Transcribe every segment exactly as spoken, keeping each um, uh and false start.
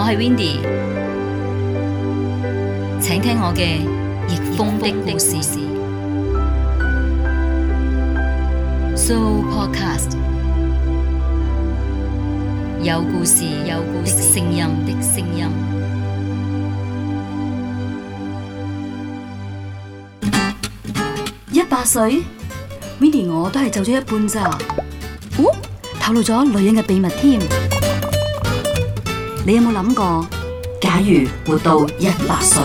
係 Windy， 請聽我嘅逆風的故事。So Podcast 有故事，有故事的聲音的聲音。一百歲 ，Windy 我都係走咗一半咋？哦，透露咗女人嘅秘密添。你有冇諗過，假如活到一百歲？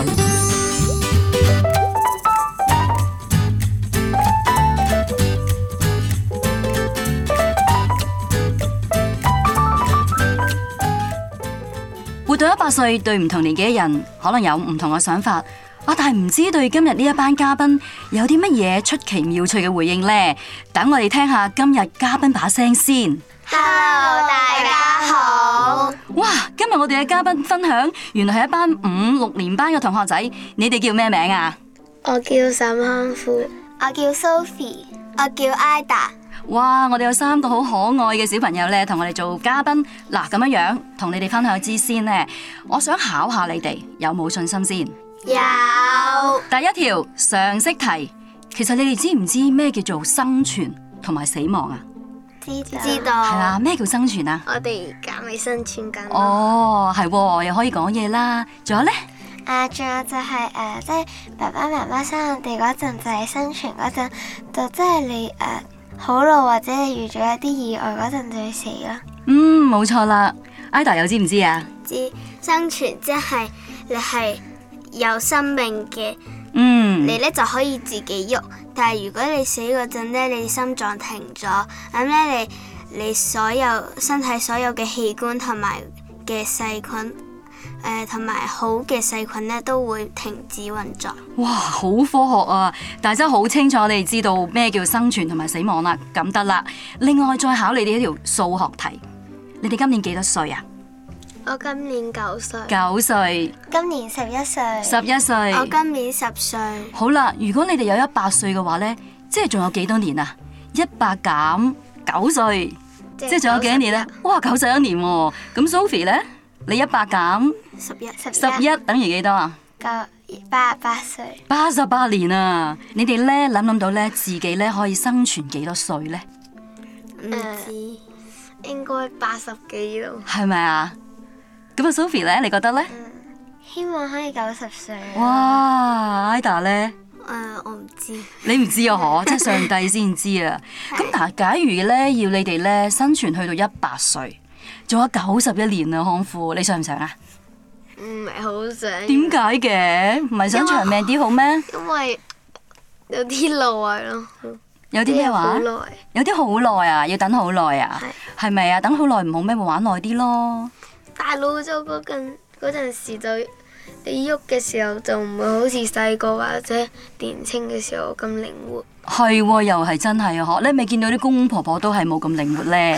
活到一百歲，對唔同年紀嘅人可能有唔同嘅想法。啊，但係唔知對今日呢一班嘉賓有啲乜嘢出奇妙趣嘅回應呢？等我哋聽下今日嘉賓把聲先。 Hello， 大家好。 哇，今日我哋嘅嘉賓分享，原來係一班五六年班嘅同學仔。你哋叫咩名啊？ 我叫沈康富，我叫 Sophie， 我叫 Ida。 哇，我哋有三個好可愛嘅小朋友咧，同我哋做嘉賓。嗱，咁樣樣同你哋分享之先呢，我想考下你哋有冇信心先。 有。 第一條常識題，其實你哋知唔知咩叫做生存同埋死亡啊？ 知道。知道。 係啦，咩叫生存啊？ 我哋而家咪生存緊。 哦，係喎，又可以講嘢啦。仲有咧？ 啊，仲有就係、是、誒、呃，即係爸爸媽媽生我哋嗰陣，就係生存嗰陣，就即係你誒好老或者你遇咗一啲意外嗰陣就會死啦。 嗯，冇錯啦。Ida 又知唔知啊？ 知，生存即係你係有生命嘅。 嗯， 你咧就可以自己喐，但係如果你死嗰陣咧，你心臟停咗，咁咧你你所有身體所有嘅器官同埋嘅細菌，誒同埋好嘅細菌咧都會停止運作。 哇，好科學啊！但係真係好清楚，你哋知道咩叫生存同埋死亡啦，咁得啦。另外再考你哋一條數學題，你哋今年幾多歲啊？ 我今年九歲。 九歲。 今年十一歲。 十一歲。 我今年十歲。 好啦，如果你哋有一百歲嘅話呢，即係仲有幾多年啊？一百減九歲，即係仲有幾多年呢？哇，九十一年喎！咁 Sophie 呢？你一百減十一， 十一等於幾多啊？ 九八八歲。八十八年啊！你哋呢諗諗到呢，自己呢可以生存幾多歲呢？ 唔知，應該八十幾咯。 係咪啊？咁啊 Sophie 咧，你覺得咧？ 嗯，希望可以九十歲。 哇 Ida 咧？ 誒、呃，我唔知。 你唔知啊？嗬，即係上帝先知啊。咁嗱，假如咧要你哋咧生存去到一百歲，仲有九十一年啊，康富，你想唔想啊？ 唔係好想。 點解嘅？唔係想長命啲好咩？ 因為有啲耐咯。 有啲咩話？好耐。有啲好耐啊，要等好耐啊。係。係咪啊？等好耐唔好咩？咪玩耐啲咯。 大老咗嗰陣嗰陣時就你喐嘅時候就唔會好似細個或者年輕嘅時候咁靈活。 係喎，又係真係啊！嗬，你咪見到啲公公婆婆都係冇咁靈活咧。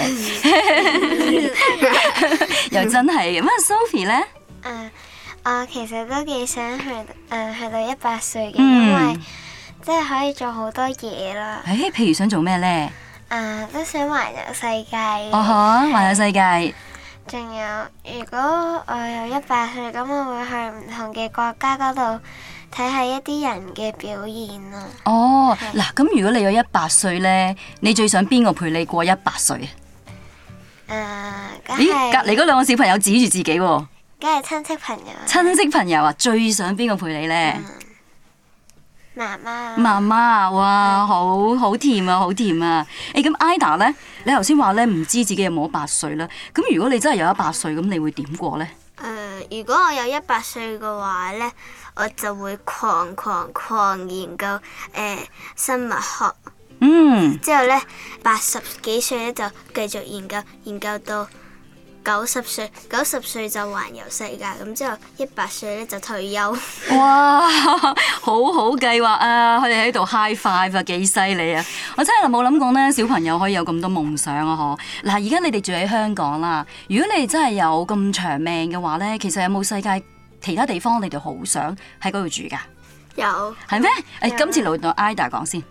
又真係咁啊 Sophie 咧？ 誒、uh, 我其實都幾想去誒、uh, 去到一百歲嘅， 嗯、 因為即係可以做好多嘢啦。 誒、欸，譬如想做咩咧？ 誒、uh, 都想環遊世界。 哦呵，環遊世界。 仲有，如果我有一百歲，咁我會去唔同嘅國家嗰度睇下一啲人嘅表現咯。 哦，嗱，咁如果你有一百歲咧，你最想邊個陪你過一百歲啊？誒，梗係咦，隔離嗰兩個小朋友指住自己喎。 梗係親戚朋友。親戚朋友啊，最想邊個陪你咧？ 嗯媽媽， 媽媽啊，哇，好好甜啊，好甜啊！誒，咁 Ida 咧，你頭先話咧唔知自己有冇一百歲啦。咁如果你真係有一百歲，咁你會點過咧？ 誒、呃，如果我有一百歲嘅話咧，我就會狂狂狂研究誒、呃、生物學。 嗯。之後咧，八十幾歲咧就繼續研究，研究到九十歲，九十歲就環遊世界，咁之後一百歲咧就退休。 哇，好好計劃啊！佢哋喺度 high five 啊，幾犀利啊！我真係冇諗過咧，小朋友可以有咁多夢想啊！嗬，嗱，而家你哋住喺香港啦，如果你哋真係有咁長命嘅話咧，其實有冇世界其他地方你哋好想喺嗰度住噶？ 有。 係咩？誒，今次輪到 Ida 講先。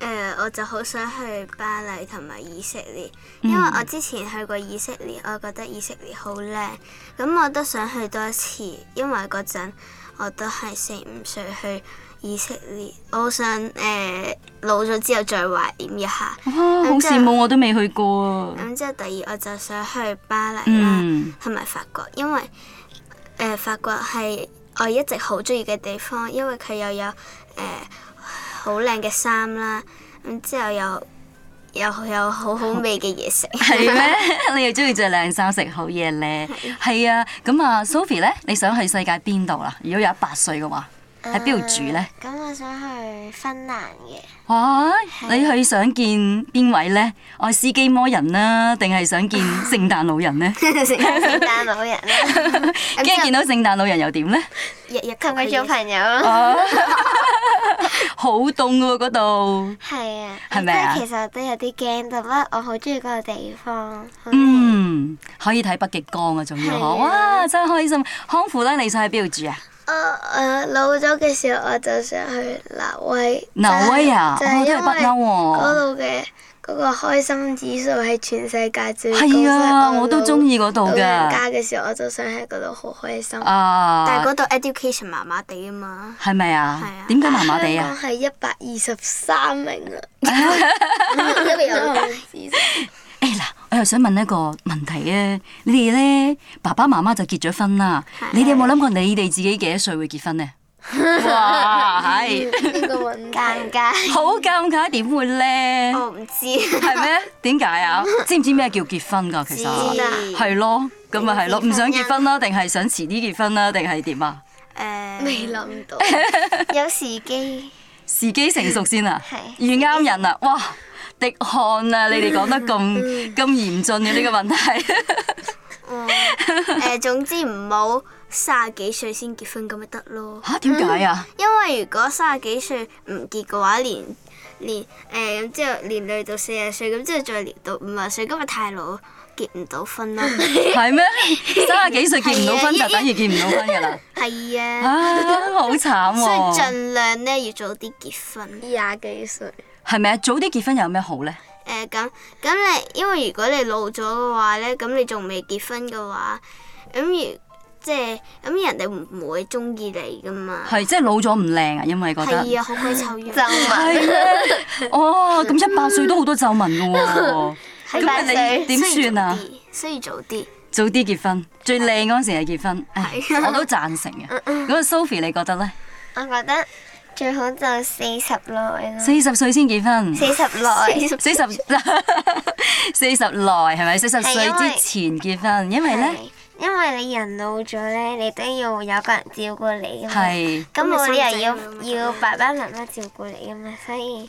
誒，我就好想去巴黎同埋以色列，因為我之前去過以色列，我覺得以色列好靚，咁我都想去多一次，因為嗰陣我都係四五歲去以色列，我好想誒、呃、老咗之後再懷念一下。 哇，好羨慕，我都未去過啊！ 咁之後第二我就想去巴黎啦，同埋、嗯、法國，因為誒、呃、法國係我一直好中意嘅地方，因為佢又有誒好靚嘅衫啦，咁之後又又有好好味嘅嘢食。係咩？ 你又中意着靚衫食好嘢咧？係啊，咁啊 Sophie 咧，你想去世界邊度啦？如果有一百歲嘅話？喺邊度住咧？ 咁、uh, 我想去芬蘭嘅。 哇！你去想見邊位咧？愛斯基摩人啦，定係想見聖誕老人咧？ 聖誕老人啦。 跟住見到聖誕老人又點咧？ 日日同佢做朋友咯。 好凍喎嗰度。 係啊。 係咪啊？ 其實都有啲驚，但係我好中意嗰個地方。 嗯，可以睇北極光啊，仲要嗬！哇，真係開心。康父咧，你想喺邊度住啊？ 我誒、uh, 老咗嘅時候，我就想去挪威。 挪威啊， 就係、 我都係北歐喎。 嗰度嘅嗰個開心指數係全世界最高。 係啊，我都中意嗰度㗎。老人家嘅時候，我就想喺嗰度好開心。 啊！ 但係嗰度 education 麻麻地啊嘛。 係咪啊？係啊。點解麻麻地啊？ 香港係一百二十三名啊！因為有誒嗱，我又想問一個問題啊！你哋咧爸爸媽媽就結咗婚啦，你哋有冇諗過你哋自己幾多歲會結婚呢？哇，係呢個問題尷尬， 好尷尬，點會咧？ 我唔知， 係咩？點解啊？知唔知咩叫結婚㗎？其實係咯，咁咪係咯，唔想結婚啦，定係想遲啲結婚啦，定係點啊？ 誒，未諗到， 有時機， 時機成熟先啊， 係遇啱人啊！哇！滴汗啊！你哋講得咁咁嚴峻嘅呢個問題。 嗯，誒，總之唔好三十幾歲先結婚咁咪得咯。 嚇？點解啊？ 因為如果三十幾歲唔結嘅話，連連誒咁之後連累到四十歲，咁之後再連到五十歲，咁咪太老，結唔到婚咯。係咩？三十幾歲結唔到婚就等於結唔到婚㗎啦。 係啊。 啊！好慘喎。 所以盡量咧要早啲結婚。廿幾歲。 係咪啊？早啲結婚有咩好咧？ 誒咁咁你，因為如果你老咗嘅話咧，咁你仲未結婚嘅話，咁如即係咁人哋唔唔會中意你噶嘛？ 係即係老咗唔靚啊，因為覺得係啊，好鬼醜樣。 皺紋。 哦，咁一百歲都好多皺紋㗎喎。咁你點算啊？ 需要早啲。早啲結婚，最靚嗰陣時係結婚。係。我都贊成嘅。咁啊，Sophie 你覺得咧？ 我覺得。最好就四十內咯， 四十歲先結婚， 四十內， 四十四十內係咪？四十歲之前結婚，因為咧， 因為你人老咗咧，你都要有個人照顧你㗎嘛， 係， 咁冇理由要要爸爸媽媽照顧你㗎嘛，所以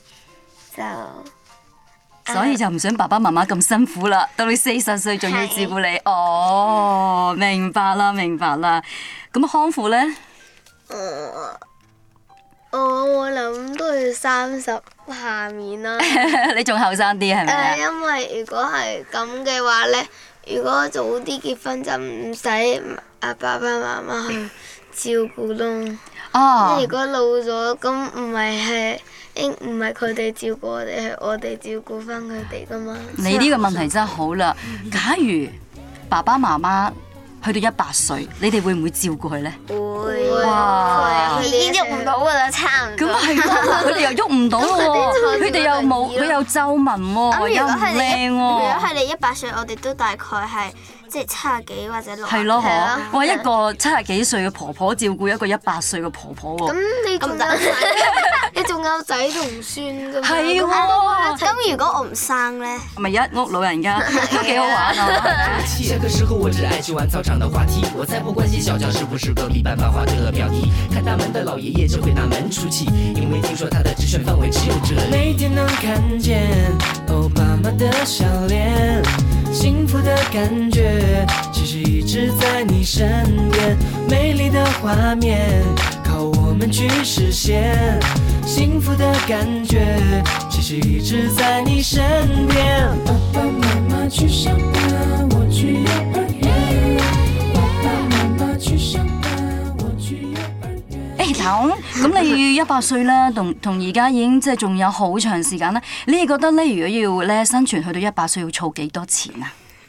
就所以就唔想爸爸媽媽咁辛苦啦，到你四十歲仲要照顧你，哦，明白啦，明白啦，咁康父咧？ 我我諗都要三十下面啦。 你仲後生啲係咪啊？ 誒，因為如果係咁嘅話咧，如果早啲結婚就唔使阿爸爸媽媽去照顧咯。哦。如果老咗，咁唔係係應唔係佢哋照顧我哋，係我哋照顧翻佢哋噶嘛？ 你呢個問題真係好啦。假如爸爸媽媽去到一百歲，你哋會唔會照顧佢咧？ 會。 哇！ 已經喐唔到噶啦，差唔多。 咁係咯，佢哋又喐唔到喎，佢哋又冇，佢又皺紋喎，又唔靚喎。如果係你一百歲，我哋都大概係即係七十幾或者六十。 係咯，嗬！哇，一個七十幾歲嘅婆婆照顧一個一百歲嘅婆婆喎。 咁你仲有仔，你仲有仔同孫㗎嘛？ 係喎。 咁如果我唔生咧？ 咪一屋老人家都幾好玩啊！ 下課時候我只愛去玩操場的滑梯，我才不關心小教是不是隔壁班漫畫的標題，看大門的老爺爺就會大門出氣，因為聽說他的直選範圍只有這裡。每天能看見歐巴媽的笑臉，幸福的感覺其實一直在你身邊，美麗的畫面靠我們去實現，幸福的感覺其實一直在你身邊。爸爸媽媽去上班，我去幼兒園。爸爸媽媽去上班，我去幼兒園。 誒嗱， 橙，咁你要一百歲啦，同同而家已經即係仲有好長時間啦。你哋覺得咧，如果要咧生存去到一百歲，要儲幾多錢啊？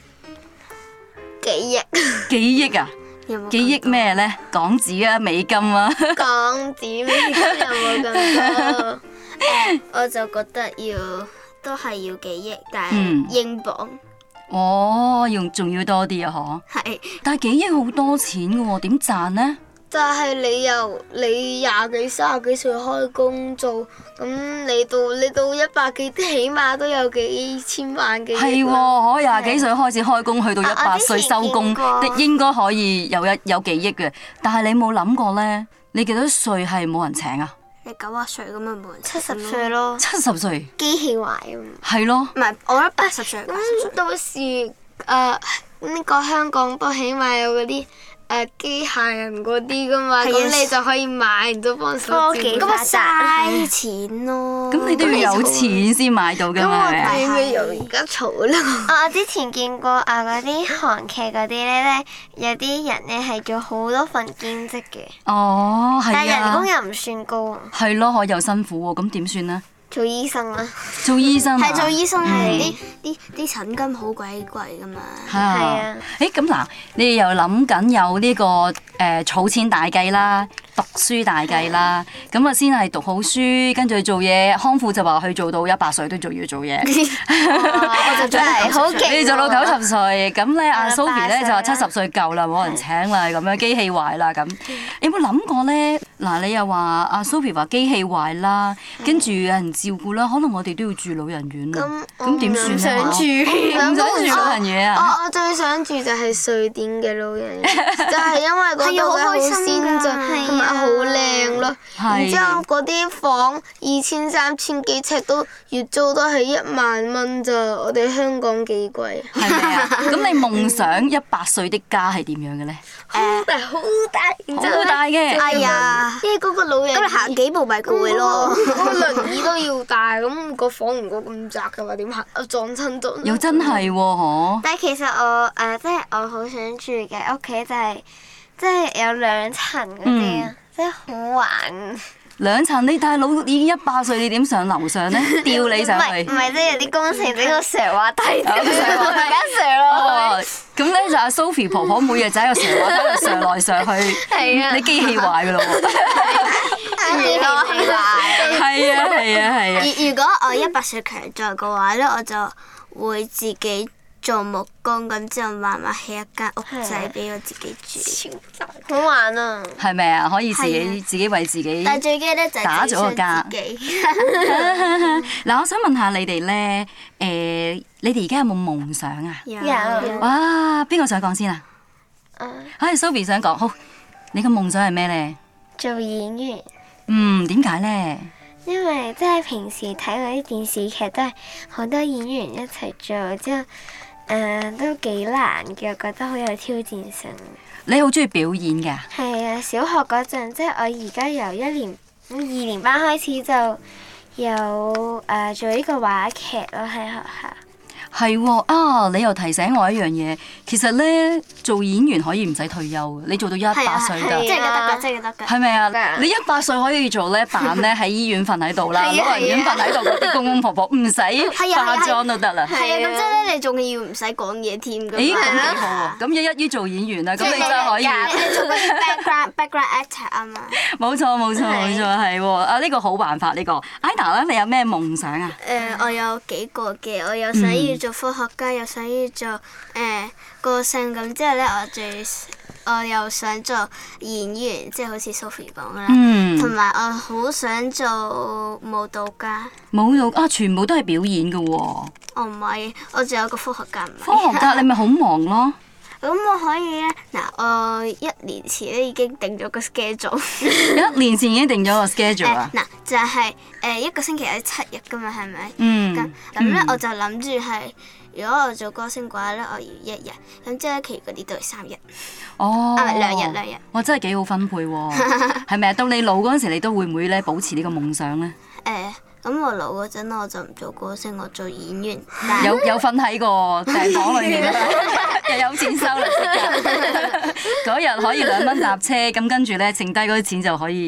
幾億？ 幾億啊？ 有冇幾億咩咧？港紙啊，美金啊？ 港紙美金有冇咁多？誒，我就覺得要都係要幾億，但嗯係英鎊哦，用仲要多啲啊，嗬？ 係。 但係幾億好多錢嘅喎，點賺呢？ 但係你由你廿幾、三十幾歲開工做，咁你到你到一百幾，起碼都有幾千萬幾億啦。 係喎，可廿幾歲開始開工，去到一百歲收工， 啊我之前見過應該可以有一有幾億嘅。但係你冇諗過咧，你幾多歲係冇人請啊？ 你九十歲咁咪冇人七十歲咯， 七十歲機器壞咁。 係咯， 唔係，我覺得八十歲。八十歲咁到時誒呢個香港都起碼有嗰啲誒機械人嗰啲噶嘛， 係啊咁你就可以買，然之後幫手科技咁咪發達。 嘥錢咯。 咁你都要有錢先買到㗎咁嘛， 我係咪啊？ 哋咪由而家儲咯。我之前見過啊嗰啲韓劇嗰啲咧，有啲人咧係做好多份兼職嘅， 哦，係但係人工啊， 又唔算高， 係咯，可又辛苦喎，咁點算呢？ 做醫生啦。 做醫生啊係做醫生嗯係啲啲啲診金好鬼貴噶嘛。 係係啊啊， 誒咁嗱，你哋又諗緊有呢個誒儲錢大計啦，讀書大計啦，咁啊先係讀好書，跟住做嘢，康復就話去做到一百歲都仲要做嘢。 我就真係好勁喎。 你做到九十歲，咁咧阿係啦 Sophie 咧就話七八歲啦十歲夠啦，冇人請啦，咁樣機器壞啦咁。有冇諗過咧？嗱，你又話阿 Sophie 話機器壞啦，跟住有人照顧啦，可能我哋都要住老人院啊。 咁咁點算唔想住， 唔想住老人院啊？ 我我最想住就係瑞典嘅老人院，就係因為嗰度係啊好嘅好開心先進㗎同埋好靚咯。 係然之後嗰啲房二千三千幾尺都月租都係一萬蚊咋，我哋香港幾貴。 係咪啊？咁你夢想一百歲的家係點樣嘅咧？ 好大好大，然之後好大嘅。 哎呀， 因為嗰個老人咁你行幾步咪攰咯。 嗰個輪椅都要大，咁個房如果咁窄嘅話點行？啊撞親咗。 又真係喎，嗬！ 但係其實我誒、呃，即係我好想住嘅屋企就係、即係有兩層嗰啲啊，即係好玩。 兩層你大佬已經一百歲，你點上樓上咧？吊你上去唔係唔。係，即係有啲工程整個斜滑梯，我大家斜落哦，咁咧就阿 Sophie 婆婆每日就喺個上滑梯度上來上去， 係啊你機器壞噶咯喎！ 去。 如果係啊係啊係啊！ 如如果我一百歲強壯嘅話咧，我就會自己做木工，咁之後慢慢起一間屋仔俾我自己住。 好玩啊！ 係咪啊？可以自己係啊自己為自己。 但係最驚咧就係打自己咗個家傷自己。 嗱，我想問下你哋咧，誒，你哋而家有冇夢想啊？ 有有哇！邊個想講先啊？ 啊唉，Sophie 想講，好，你嘅夢想係咩咧？ 做演員， 嗯，點解咧？ 因為即係平時睇嗰啲電視劇都係好多演員一齊做，之後誒、呃、都幾難嘅，我覺得好有挑戰性。 你好中意表演嘅？ 係啊，小學嗰陣，即係我而家由一年二年班開始就有誒、呃、做呢個話劇咯，喺學校。 係喎啊！你又提醒我一樣嘢，其實咧做演員可以唔使退休嘅，你做到一百歲即㗎， 係得㗎，即係得㗎。 係咪啊？ 㗎你一百歲可以做咧扮咧喺醫院瞓喺度啦， 係啊老人院瞓喺度嗰啲公公婆婆唔使化妝都得啦。 係啊，咁即係咧，你仲要唔使講嘢添㗎嘛。 咦，咁幾好喎！咁一一於做演員啦，咁你真係可以。 你做嗰啲 background background actor 啊嘛。 冇錯冇錯冇錯，係喎啊！呢個好辦法呢個。Ida 咧，你有咩夢想啊？ 誒，我有幾個嘅，我有想要做科學家，又想要做誒歌星，咁之後咧，我最我又想做演員，即係好似 Sophie 講啦， 嗯同埋我好想做舞蹈家。 舞蹈啊，全部都係表演嘅喎。 我唔係，我仲有個科學家唔係。 科學家你咪好忙咯。 咁我可以咧，嗱，我一年前咧已經定咗個 schedule。 一年前已經定咗個 schedule 誒啊。 嗱，就係誒一個星期有七日噶嘛，係咪？ 嗯。 咁咁咧， 嗯我就諗住係，如果我做歌星嘅話咧，我要一日，咁之後咧，其餘嗰啲都係三日。 哦。 啊，唔係兩日兩日。 哇！真係幾好分配喎。係咪啊？到你老嗰陣時，你都會唔會咧保持呢個夢想咧？ 誒，咁我老嗰陣我就唔做歌星，我做演員。但係有有瞓喺個病房裏面啦，又有錢收啦，嗰日可以兩蚊搭車，咁跟住咧剩低嗰啲錢就可以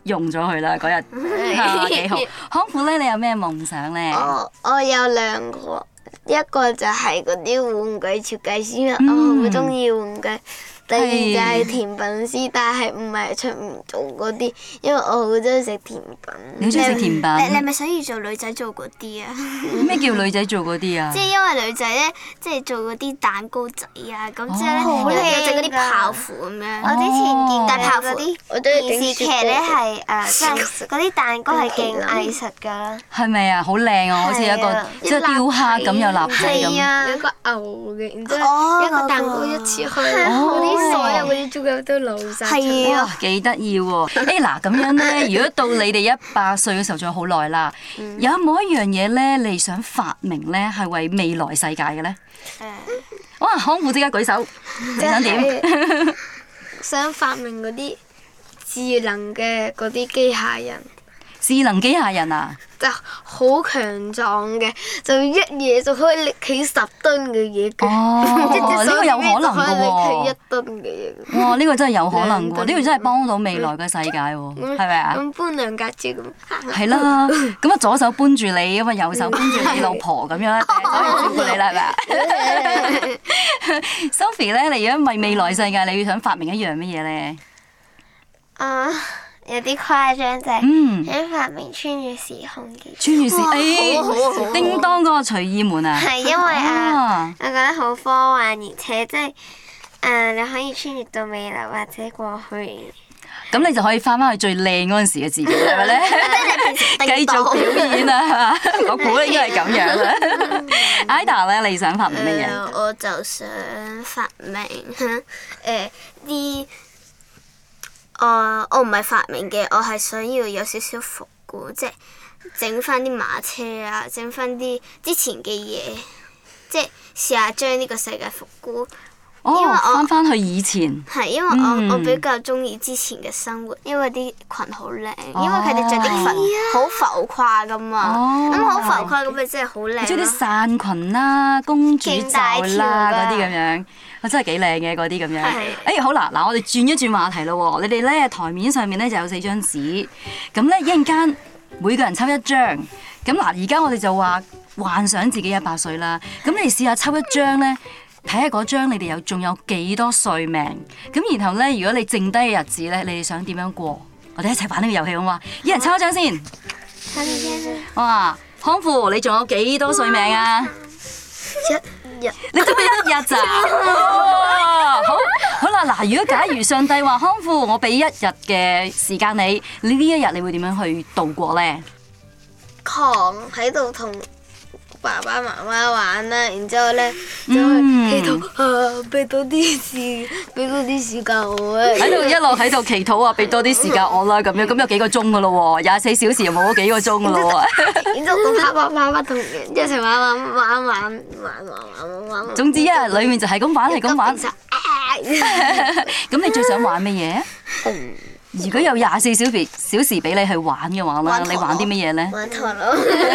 用咗佢啦嗰日，係幾好。康父咧，你有咩夢想咧？ 我我有兩個，一個就係嗰啲玩具設計師， 嗯我好中意玩具。第二就係甜品師，但係唔係出唔做嗰啲，因為我好中意食甜品。 你好中意食甜品？ 你你係咪想要做女仔做嗰啲啊？ 咩叫女仔做嗰啲啊？ 即係因為女仔咧，即係做嗰啲蛋糕仔啊，咁之哦後咧有有整嗰啲泡芙咁樣。 我之前見但泡芙到嗰啲我都係電視劇咧係誒，即係嗰啲蛋糕係勁藝術㗎啦。 係咪啊？好靚啊！好似一個係啊即係雕刻咁，有立體咁。 啊， 有個牛嘅，然之後一個蛋糕一切開，嗰啲所有嗰啲朱古力都流晒出嚟。 哇，幾得意喎！誒嗱，咁樣咧，如果到你哋一百歲嘅時候，仲有好耐啦，有冇一樣嘢咧，你想發明咧，係為未來世界嘅咧？ 誒， 哇！康父即刻舉手，你想點？ 想發明嗰啲智能嘅嗰啲機械人， 智能機械人啊！ 就好強壯嘅，就一嘢就可以拎起十噸嘅嘢嘅。 哦，呢個有可能嘅一喎。 噸嘅嘢。 哇！呢個真係有可能喎， 兩噸呢個真係幫到未來嘅世界喎，係咪啊？ 咁搬兩架車咁。 係啦，咁啊左手搬住你，咁啊右手搬住你老婆咁樣，可以照顧你啦，係咪啊？Sophie 咧，你如果為未來世界，你要想發明一樣乜嘢咧？ 啊，有啲誇張就係嗯， 想發明穿越時空嘅， 穿越時，誒，叮當嗰個隨意門啊！ 係因為啊， 啊， 我覺得好科幻，而且即係誒你可以穿越到未來或者過去。 咁你就可以翻翻去最靚嗰陣時嘅自己，係咪咧？繼續表演啊，係嘛？我估應該係咁樣啦。Ida 咧，你想發明乜嘢？ 誒，我就想發明誒啲。Uh, 我唔係發明嘅，我係想要有少少復古，即係整翻啲馬車啊，整翻啲之前嘅嘢，即係試下將呢個世界復古。因為哦， 我翻翻去以前。 係因為我、 嗯我比較中意之前嘅生活，因為啲裙好靚， 哦因為佢哋着啲裙好浮誇噶嘛， 哦咁好、浮誇咁咪真係好靚即係啲咯。 傘裙啦、公主罩啦勁大條㗎嗰啲咁樣，我真係幾靚嘅嗰啲咁樣。 係誒好啦，嗱我哋轉一轉話題咯喎，你哋咧台面上面咧就有四張紙，咁咧一陣間每個人抽一張，咁嗱而家我哋就話幻想自己一百歲啦，咁你試下抽一張咧。睇下嗰張你哋有仲有幾多歲命，咁然後咧，如果你剩低嘅日子咧，你哋想點樣過？我哋一齊玩呢個遊戲好嘛？一人抽一張先。哇，康父，你仲有幾多歲命啊？ 一日你得一日咋？哇好，好啦，嗱，如果假如上帝話康父，我俾一日嘅時間你，你呢一日你會點樣去度過咧？ 狂喺度同爸爸媽媽玩啦，然之後咧就嗯祈禱啊，俾多啲時，俾多啲時間我啊。 喺度一路喺度祈禱啊，俾多啲時間我啦，咁樣咁有幾個鐘噶咯喎，廿四小時又冇咗幾個鐘噶咯喎。 然之後同爸爸媽媽同人一齊玩玩玩玩玩玩玩玩玩。 總之一日裡面就係咁玩，係咁玩。 咁咁你最想玩乜嘢？如果有廿四小時小時俾你去玩嘅話啦，你玩啲乜嘢咧？ 玩陀螺，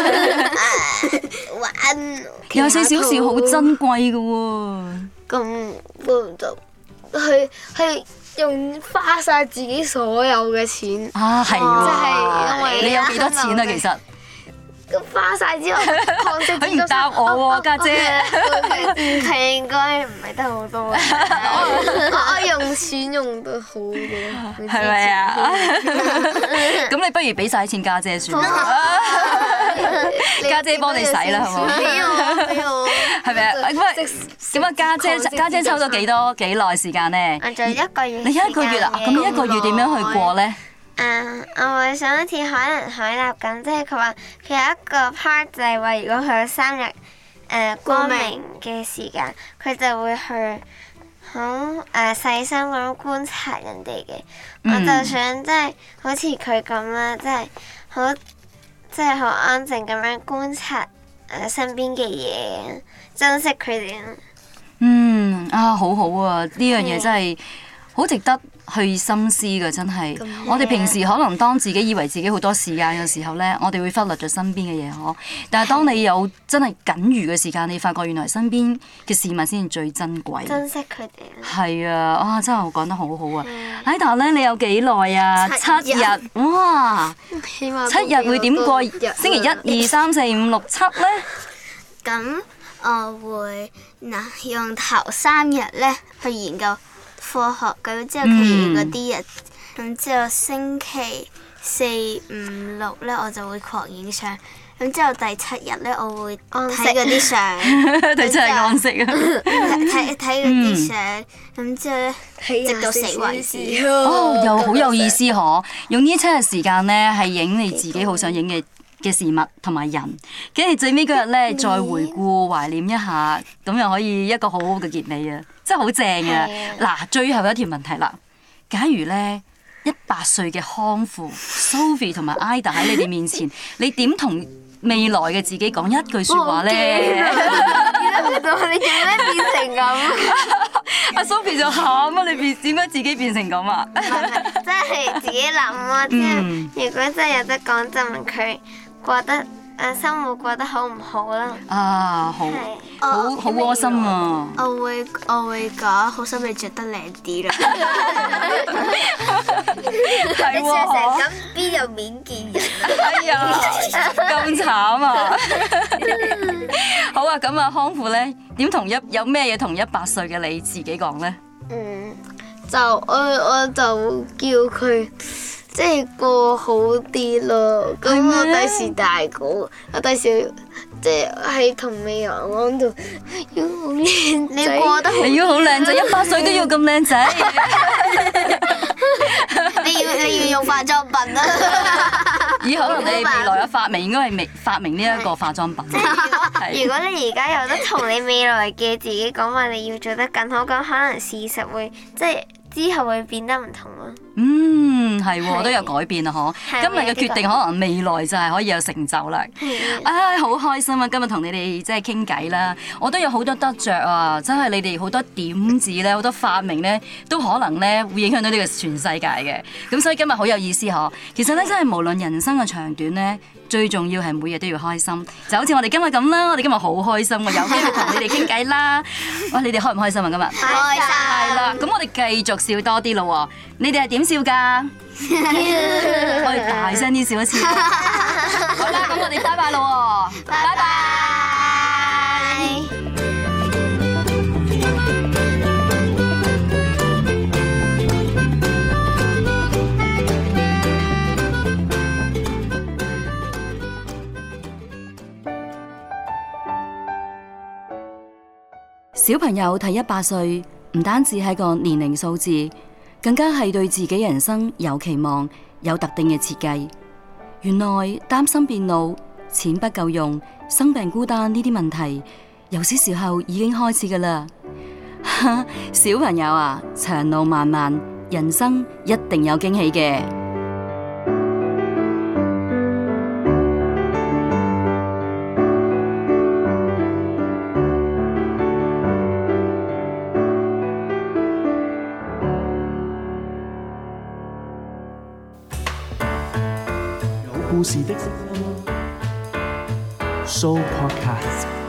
玩廿四小時好珍貴嘅喎。 咁就去去用花晒自己所有嘅錢， 啊，係即係因為你有幾多錢啊？其實咁花晒之後，抗息佢唔答我喎，家姐。 佢應該唔係得好多嘅，我我用錢用得好多， 係咪啊？咁你不如俾晒錢家姐算啦，家姐幫你使啦，係嘛？ 俾我俾我， 係咪啊？咁啊，咁啊，家姐家姐抽咗幾多幾耐時間咧？ 我仲有一個月。 你一個月啊？咁一個月點樣去過咧？ 啊！我會想好似海能海納咁，即係佢話佢有一個 part 就係話，如果佢有三日誒、呃、光明嘅時間，佢就會去好誒、呃、細心咁觀察人哋嘅。 嗯、 我就想即係好似佢咁啦，即係好即係好安靜咁樣觀察誒、呃、身邊嘅嘢，珍惜佢哋。 嗯啊，好好啊！呢樣嘢真係好值得去深思嘅，真係。我哋平時可能當自己以為自己好多時間嘅時候咧，我哋會忽略咗身邊嘅嘢嗬。但係當你有真係僅餘嘅時間，你發覺原來身邊嘅事物先至最珍貴。 珍惜佢哋。 係啊，哇！真係講得好好啊。喺但係咧，你有幾耐啊？七日，哇！ 希望七日會點過？星期一、二、三、四、五、六、七咧？ 咁我會嗱用頭三日咧去研究科學，咁之後其餘嗰啲日，咁之後星期四、五、六咧我就會狂影相，咁之後第七日咧我會睇嗰啲相， 第七日安息啊！ 睇睇嗰啲相，咁之後咧直到死為止。 哦，又好有意思嗬！用呢七日時間咧係影你自己好想影嘅嘅事物同埋人，跟住最尾嗰日咧再回顧懷念一下，咁又可以一個好好嘅結尾啊！真係好正啊！嗱，最後一條問題啦，假如咧一百歲嘅康父 Sophie 同埋 Ida 喺你哋面前，你點同未來嘅自己講一句説話咧？ 你做咩變成咁？ 阿 Sophie 就喊啊！你變點解自己變成咁啊？ 真係自己諗啊！即係如果真係有得講，就問佢過得誒生活過得好唔好啦？ 啊，好，好好窩心啊！ 我會我會講好心你着得靚啲啦。 係喎， 咁邊有面見人？ 哎呀，咁慘啊！好啊，咁啊，康父咧點同一有咩嘢同一百歲嘅你自己講咧？ 嗯，就我我就叫佢即係過好啲咯。咁我第時大個，我第時即係喺同未來講度要好靚仔。 你過得好， 你要好靚仔，一百歲都要咁靚仔。 你要你要用化妝品啊！ 以可能你未來嘅發明應該係未發明呢一個化妝品。 如果你而家有得同你未來嘅自己講話，你要做得更好，咁可能事實會即係之後會變得唔同咯。 嗯，係喎，都有改變啊！嗬， 係今日嘅決定可能未來就係可以有成就啦。唉，好開心啊！今日同你哋即係傾偈啦，我都有好多得着啊！真係你哋好多點子咧，好多發明咧，都可能咧會影響到呢個全世界嘅。咁所以今日好有意思嗬。其實咧，真係無論人生嘅長短咧，最重要係每日都要開心。就好似我哋今日咁啦，我哋今日好開心啊！有機會同你哋傾偈啦。哇，你哋開唔開心啊？今日開心係啦，咁我哋繼續笑多啲咯喎。你哋係點笑㗎？我哋大聲啲笑一次。好啦，咁我哋拜拜咯喎，拜拜。小朋友睇一百歲，唔單止係個年齡數字，更加係對自己人生有期望、有特定嘅設計。原來擔心變老、錢不夠用、生病孤單呢啲問題，由小時候已經開始㗎喇。小朋友啊，長路漫漫，人生一定有驚喜嘅。 故事的聲音 Show Podcast。